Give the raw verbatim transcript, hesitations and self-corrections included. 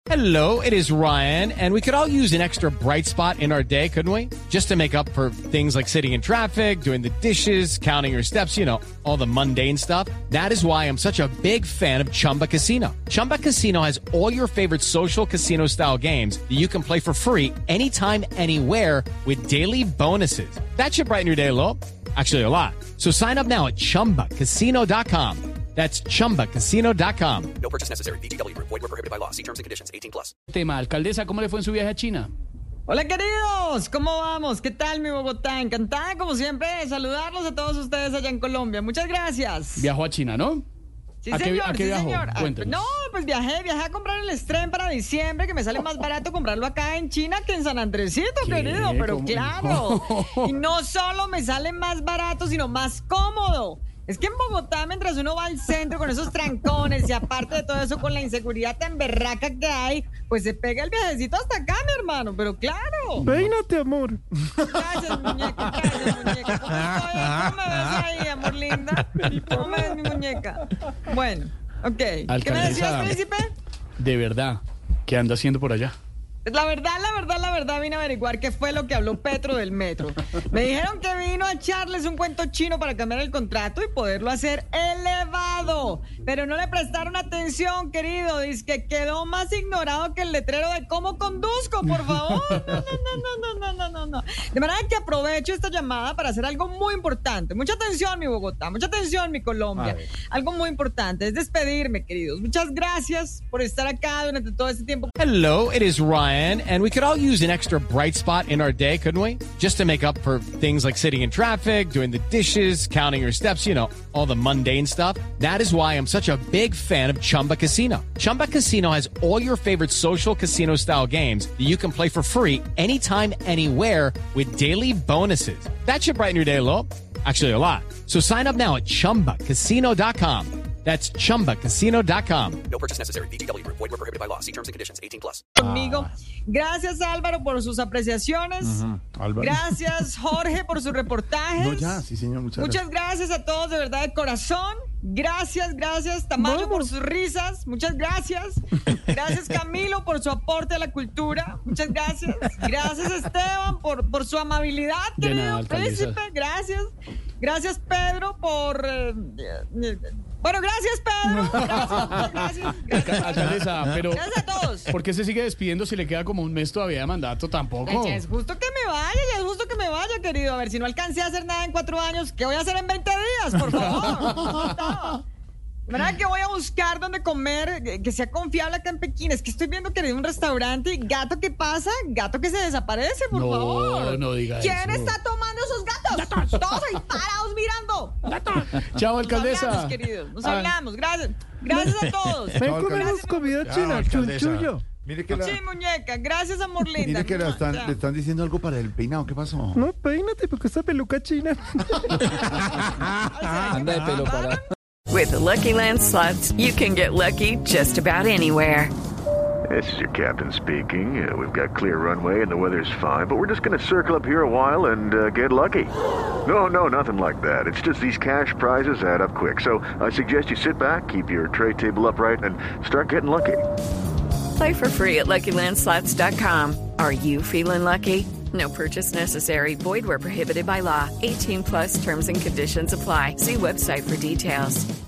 Hello, it is Ryan, and we could all use an extra bright spot in our day, couldn't we? Just to make up for things like sitting in traffic, doing the dishes, counting your steps, you know, all the mundane stuff. That is why I'm such a big fan of Chumba Casino. Chumba Casino has all your favorite social casino-style games that you can play for free anytime, anywhere with daily bonuses. That should brighten your day a little. Actually, a lot. So sign up now at chumba casino dot com. That's chumba casino dot com. No purchase necessary. V G W Group. Void where prohibited by law. See terms and conditions. eighteen plus. Tema, alcaldesa, ¿cómo le fue en su viaje a China? Hola queridos, ¿cómo vamos? ¿Qué tal mi Bogotá? Encantada como siempre de saludarlos a todos ustedes allá en Colombia. Muchas gracias. Viajó a China, ¿no? Sí, ¿A qué- señor, a qué sí, viajó? señor. Ah, Cuéntenos. no, pues viajé, viajé a comprar el estreno para diciembre, que me sale más barato comprarlo acá en China que en San Andresito, ¿Qué? querido, pero ¿Cómo? claro. Y no solo me sale más barato, sino más cómodo. Es que en Bogotá, mientras uno va al centro con esos trancones y aparte de todo eso con la inseguridad tan berraca que hay, pues se pega el viajecito hasta acá, mi hermano, pero claro. Peínate, amor. Gracias, muñeca, gracias, muñeca. ¿Cómo estoy? ¿Cómo me ves ahí, amor linda? ¿Cómo me ves, mi muñeca? Bueno, ok. ¿Qué me Alcaldesa. decías, príncipe? De verdad, ¿qué anda haciendo por allá? La verdad, la verdad, la verdad, vine a averiguar qué fue lo que habló Petro del metro. Me dijeron que vino a echarles un cuento chino para cambiar el contrato y poderlo hacer elevado. Pero no le prestaron atención, querido. Dice que quedó más ignorado que el letrero de cómo conduzco, por favor. No, no, no, no, no, no, no, no. De manera que aprovecho esta llamada para hacer algo muy importante. Mucha atención, mi Bogotá. Mucha atención, mi Colombia. Algo muy importante es despedirme, queridos. Muchas gracias por estar acá durante todo este tiempo. Hello, it is Ryan, and we could all use an extra bright spot in our day, couldn't we? Just to make up for things like sitting in traffic, doing the dishes, counting your steps, you know, all the mundane stuff. That is why I'm such a big fan of Chumba Casino. Chumba Casino has all your favorite social casino-style games that you can play for free anytime, anywhere with daily bonuses. That should brighten your day a little. Actually, a lot. So sign up now at chumba casino dot com. That's chumba casino dot com. No purchase necessary. V G W Group. Void where prohibited by law. See terms and conditions. eighteen plus. Conmigo. Gracias, Álvaro, por sus apreciaciones. Álvaro. Gracias, Jorge, por sus reportajes. No, ya, sí, señor, muchas Muchas gracias a todos, de verdad, de corazón. Gracias, gracias, Tamayo, por sus risas. Muchas gracias. Gracias, Camilo, por su aporte a la cultura. Muchas gracias. Gracias, Esteban, por, por su amabilidad, De querido nada, alcaldesa. príncipe. Gracias. Gracias, Pedro, por... eh, eh, bueno, gracias, Pedro. Gracias, muchas gracias. Gracias, Alcaldesa, pero gracias a todos. ¿por qué se sigue despidiendo si le queda como un mes todavía de mandato? Tampoco. Ya es justo que me vaya, ya es justo que me vaya, querido. A ver, si no alcancé a hacer nada en cuatro años, ¿qué voy a hacer en veinte días, por favor? De verdad que voy a buscar dónde comer, eh, que sea confiable acá en Pekín. Es que estoy viendo que hay un restaurante y gato que pasa, gato que se desaparece, por No, favor. no diga ¿Quién eso. está tomando esos gatos? Todos ahí parados mirando. Chao, Nos alcaldesa. hablamos, queridos. Nos Ah. hablamos. Gracias. Gracias a todos. Ven, comemos comida china, chunchullo. Mire que, la, Sí, muñeca. Gracias, amor linda. mire que la están, Ya. le están diciendo algo para el peinado. ¿Qué pasó? No, peínate porque esta peluca china. Anda de pelo para. With the Lucky Land Slots, you can get lucky just about anywhere. This is your captain speaking. Uh, we've got clear runway and the weather's fine, but we're just going to circle up here a while and uh, get lucky. No, no, nothing like that. It's just these cash prizes add up quick. So I suggest you sit back, keep your tray table upright, and start getting lucky. Play for free at lucky land slots dot com. Are you feeling lucky? No purchase necessary. Void where prohibited by law. eighteen plus terms and conditions apply. See website for details.